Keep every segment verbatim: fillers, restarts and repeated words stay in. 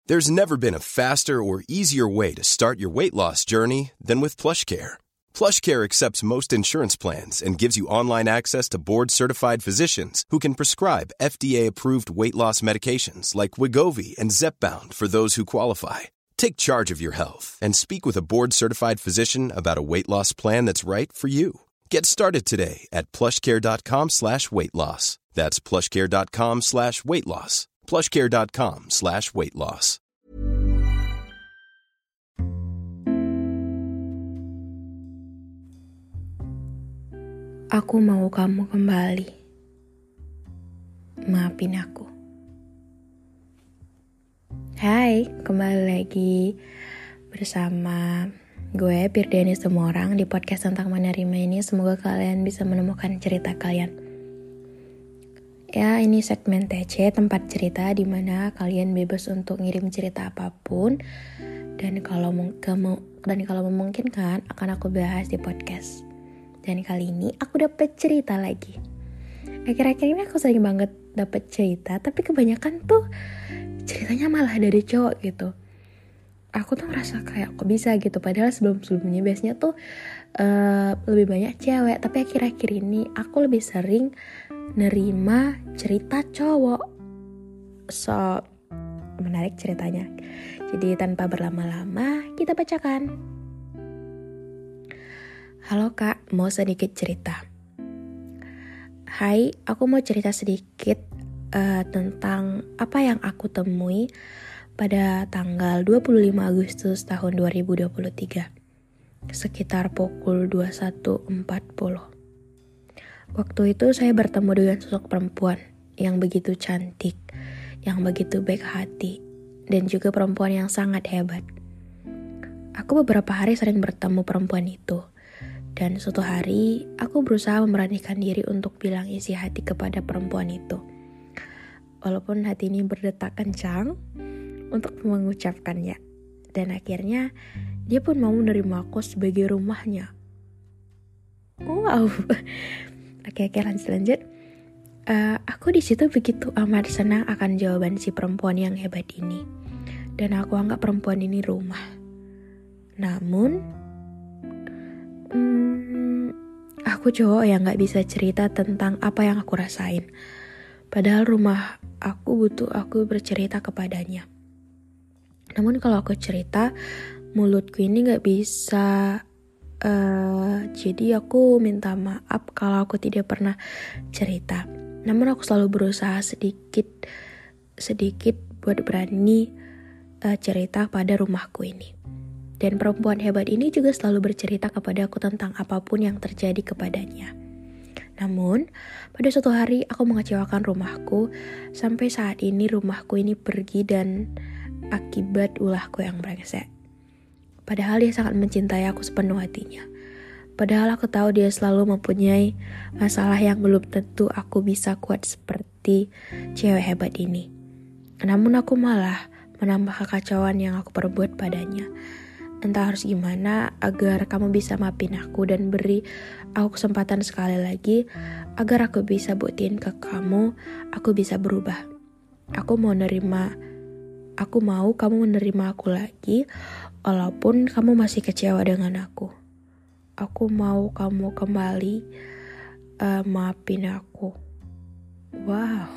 There's never been a faster or easier way to start your weight loss journey than with PlushCare. PlushCare accepts most insurance plans and gives you online access to board-certified physicians who can prescribe F D A-approved weight loss medications like Wegovy and Zepbound for those who qualify. Take charge of your health and speak with a board-certified physician about a weight loss plan that's right for you. Get started today at plushcare.com slash weight loss. That's plushcare.com slash weight loss. plushcare.com slash weight loss. Aku mau kamu kembali. Maafin aku. Hai, kembali lagi bersama gue Pirdeni semua orang di podcast tentang menerima ini. Semoga kalian bisa menemukan cerita kalian. Ya, ini segmen T C, tempat cerita di mana kalian bebas untuk ngirim cerita apapun, dan kalau kamu dan kalau memungkinkan akan aku bahas di podcast. Dan kali ini aku dapet cerita lagi. Akhir-akhir ini aku sering banget dapet cerita, tapi kebanyakan tuh ceritanya malah dari cowok gitu. Aku tuh merasa kayak kok bisa gitu, padahal sebelum-sebelumnya biasanya tuh uh, lebih banyak cewek, tapi akhir-akhir ini aku lebih sering nerima cerita cowok. So, menarik ceritanya. Jadi tanpa berlama-lama, kita bacakan. Halo kak, mau sedikit cerita. Hai, aku mau cerita sedikit uh, tentang apa yang aku temui pada tanggal dua puluh lima Agustus tahun dua ribu dua puluh tiga, sekitar pukul dua puluh satu empat puluh. Waktu itu saya bertemu dengan sosok perempuan yang begitu cantik, yang begitu baik hati, dan juga perempuan yang sangat hebat. Aku beberapa hari sering bertemu perempuan itu, dan suatu hari aku berusaha memberanikan diri untuk bilang isi hati kepada perempuan itu. Walaupun hati ini berdetak kencang untuk mengucapkannya, dan akhirnya dia pun mau menerima aku sebagai rumahnya. Wow. Oke, oke lanjut lanjut. Uh, aku di situ begitu amat senang akan jawaban si perempuan yang hebat ini, dan aku anggap perempuan ini rumah. Namun, hmm, aku cowok yang nggak bisa cerita tentang apa yang aku rasain. Padahal rumah aku butuh aku bercerita kepadanya. Namun kalau aku cerita, mulutku ini nggak bisa. Uh, jadi aku minta maaf kalau aku tidak pernah cerita. Namun aku selalu berusaha sedikit sedikit buat berani uh, cerita pada rumahku ini. Dan perempuan hebat ini juga selalu bercerita kepada aku tentang apapun yang terjadi kepadanya. Namun pada suatu hari aku mengecewakan rumahku. Sampai saat ini rumahku ini pergi dan akibat ulahku yang brengsek. Padahal dia sangat mencintai aku sepenuh hatinya. Padahal aku tahu dia selalu mempunyai masalah yang belum tentu aku bisa kuat seperti cewek hebat ini. Namun aku malah menambah kekacauan yang aku perbuat padanya. Entah harus gimana agar kamu bisa maafin aku dan beri aku kesempatan sekali lagi agar aku bisa buktiin ke kamu aku bisa berubah. Aku mau nerima, aku mau kamu menerima aku lagi. Walaupun kamu masih kecewa dengan aku, aku mau kamu kembali uh, maafin aku. Wow.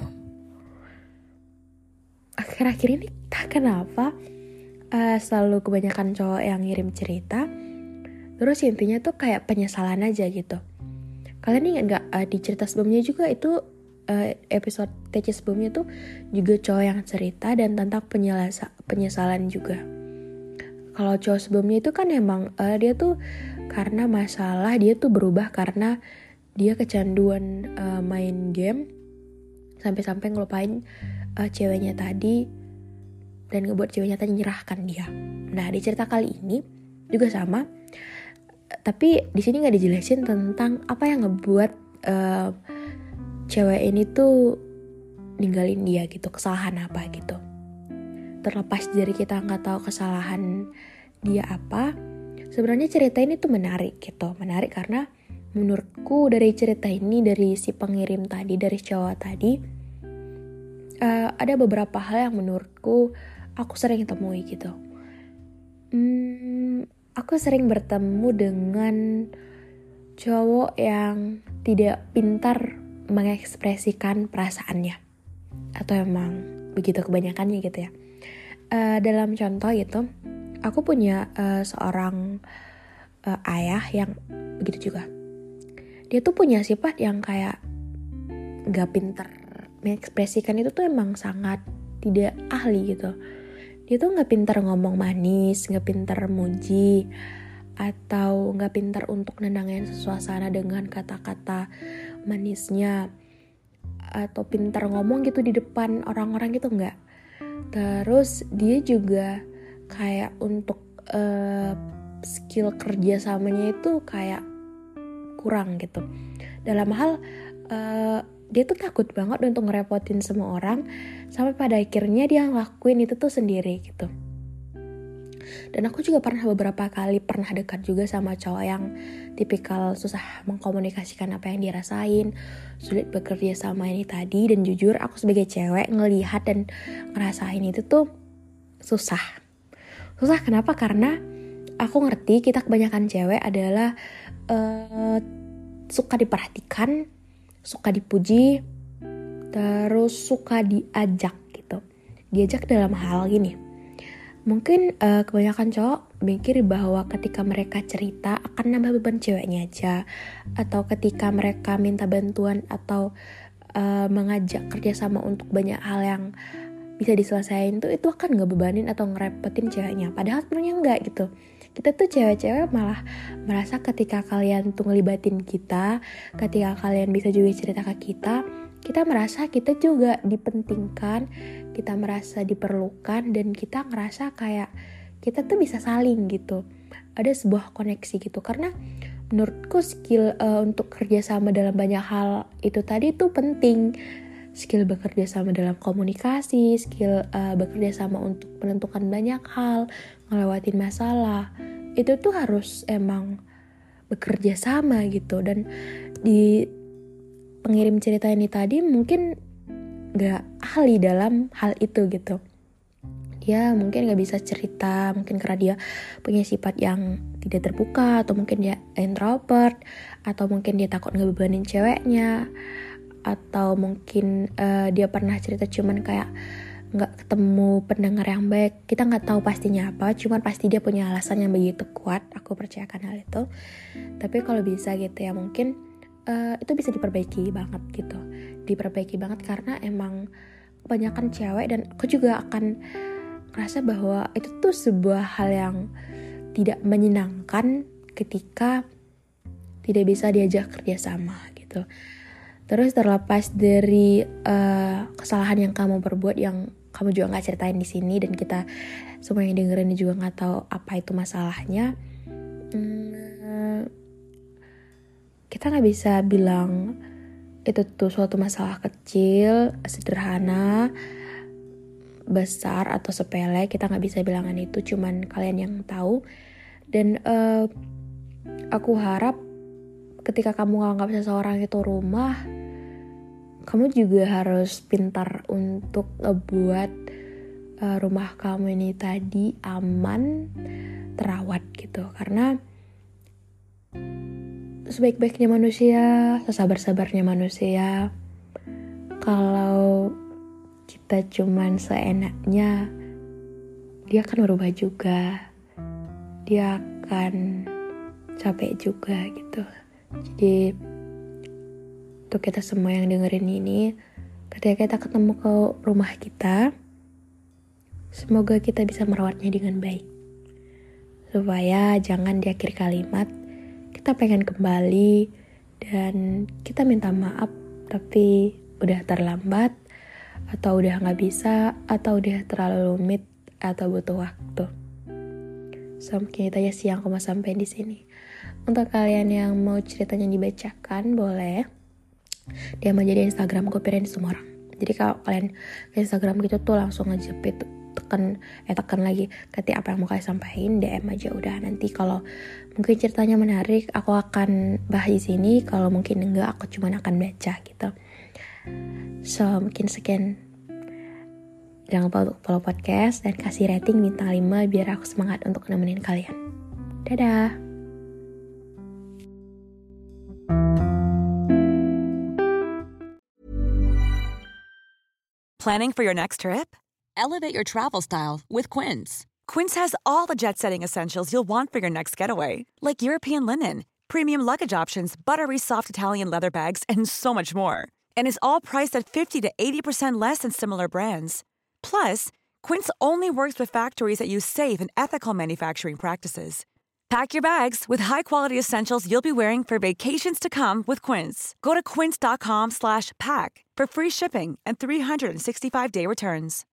Akhir-akhir ini tak kenapa uh, selalu kebanyakan cowok yang ngirim cerita, terus intinya tuh kayak penyesalan aja gitu. Kalian ingat gak uh, di cerita sebelumnya juga itu uh, episode T C sebelumnya tuh juga cowok yang cerita dan tentang penyelesa- penyesalan juga. Kalau cowok sebelumnya itu kan emang uh, dia tuh karena masalah, dia tuh berubah karena dia kecanduan uh, main game sampai-sampai ngelupain uh, ceweknya tadi dan ngebuat ceweknya tadi nyerahkan dia. Nah di cerita kali ini juga sama, tapi di sini nggak dijelasin tentang apa yang ngebuat uh, cewek ini tuh ninggalin dia gitu, kesalahan apa gitu. Terlepas dari kita nggak tahu kesalahan dia apa, sebenarnya cerita ini tuh menarik gitu, menarik karena menurutku dari cerita ini, dari si pengirim tadi, dari cowok tadi, uh, ada beberapa hal yang menurutku aku sering temui gitu. Hmm, aku sering bertemu dengan cowok yang tidak pintar mengekspresikan perasaannya, atau emang begitu kebanyakannya gitu ya. Uh, dalam contoh gitu, aku punya uh, seorang uh, ayah yang begitu juga. Dia tuh punya sifat yang kayak gak pintar mengekspresikan itu tuh emang sangat tidak ahli gitu. Dia tuh gak pintar ngomong manis, gak pintar muji, atau gak pintar untuk nenangin suasana dengan kata-kata manisnya, atau pintar ngomong gitu di depan orang-orang gitu enggak. Terus dia juga kayak untuk uh, skill kerja samanya itu kayak kurang gitu. Dalam hal uh, dia tuh takut banget untuk ngerepotin semua orang, sampai pada akhirnya dia ngelakuin itu tuh sendiri gitu. Dan aku juga pernah beberapa kali pernah dekat juga sama cowok yang tipikal susah mengkomunikasikan apa yang dirasain, sulit bekerja sama ini tadi. Dan jujur aku sebagai cewek ngelihat dan ngerasain itu tuh susah. Susah kenapa? Karena aku ngerti kita kebanyakan cewek adalah uh, suka diperhatikan, suka dipuji, terus suka diajak gitu. Diajak dalam hal gini. Mungkin uh, kebanyakan cowok mikir bahwa ketika mereka cerita akan nambah beban ceweknya aja, atau ketika mereka minta bantuan atau uh, mengajak kerjasama untuk banyak hal yang bisa diselesaikan tuh itu akan ngebebanin atau ngerepotin ceweknya. Padahal sebenarnya enggak gitu. Kita tuh cewek-cewek malah merasa ketika kalian tuh ngelibatin kita, ketika kalian bisa juga cerita ke kita, kita merasa kita juga dipentingkan, kita merasa diperlukan, dan kita ngerasa kayak kita tuh bisa saling gitu. Ada sebuah koneksi gitu. Karena menurutku skill uh, untuk kerjasama dalam banyak hal itu tadi tuh penting. Skill bekerja sama dalam komunikasi, skill uh, bekerja sama untuk menentukan banyak hal, ngelewatin masalah. Itu tuh harus emang bekerja sama gitu. Dan di pengirim cerita ini tadi mungkin gak ahli dalam hal itu gitu. Dia mungkin gak bisa cerita, mungkin karena dia punya sifat yang tidak terbuka, atau mungkin dia introvert, atau mungkin dia takut ngebebanin ceweknya, atau mungkin uh, dia pernah cerita cuman kayak gak ketemu pendengar yang baik. Kita gak tahu pastinya apa, cuman pasti dia punya alasan yang begitu kuat. Aku percayakan hal itu. Tapi kalau bisa gitu ya, mungkin Uh, itu bisa diperbaiki banget gitu, diperbaiki banget karena emang kebanyakan cewek, dan aku juga akan ngerasa bahwa itu tuh sebuah hal yang tidak menyenangkan ketika tidak bisa diajak kerjasama gitu. Terus terlepas dari uh, kesalahan yang kamu perbuat yang kamu juga nggak ceritain di sini, dan kita semua yang dengerin juga nggak tahu apa itu masalahnya. Hmm, kita gak bisa bilang itu tuh suatu masalah kecil, sederhana, besar, atau sepele. Kita gak bisa bilangan itu, cuman kalian yang tahu. Dan uh, aku harap ketika kamu nganggap seseorang itu rumah, kamu juga harus pintar untuk ngebuat uh, rumah kamu ini tadi aman, terawat gitu. Karena sebaik-baiknya manusia, sesabar-sabarnya manusia, kalau kita cuman seenaknya, dia akan berubah juga. Dia akan capek juga gitu. Jadi untuk kita semua yang dengerin ini, ketika kita ketemu ke rumah kita, semoga kita bisa merawatnya dengan baik. Supaya jangan di akhir kalimat kita pengen kembali dan kita minta maaf tapi udah terlambat, atau udah gak bisa, atau udah terlalu rumit, atau butuh waktu. So mungkin itu aja sih yang aku mau sampaikan di sini. Untuk kalian yang mau ceritanya dibacakan, boleh dia mau jadi Instagram Kopirin semua orang. Jadi kalau kalian ke Instagram gitu tuh langsung aja itu tekan eh tekan lagi ketik apa yang mau kalian sampaikan, D M aja udah. Nanti kalau mungkin ceritanya menarik, aku akan bahas di sini. Kalau mungkin enggak, aku cuma akan baca gitu. So mungkin sekian Jangan lupa untuk follow podcast dan kasih rating bintang lima biar aku semangat untuk nemenin kalian. Dadah! Planning for your next trip? Elevate your travel style with Quince. Quince has all the jet-setting essentials you'll want for your next getaway, like European linen, premium luggage options, buttery soft Italian leather bags, and so much more. And is all priced at fifty to eighty percent less than similar brands. Plus, Quince only works with factories that use safe and ethical manufacturing practices. Pack your bags with high-quality essentials you'll be wearing for vacations to come with Quince. Go to quince.com slash pack for free shipping and three sixty-five day returns.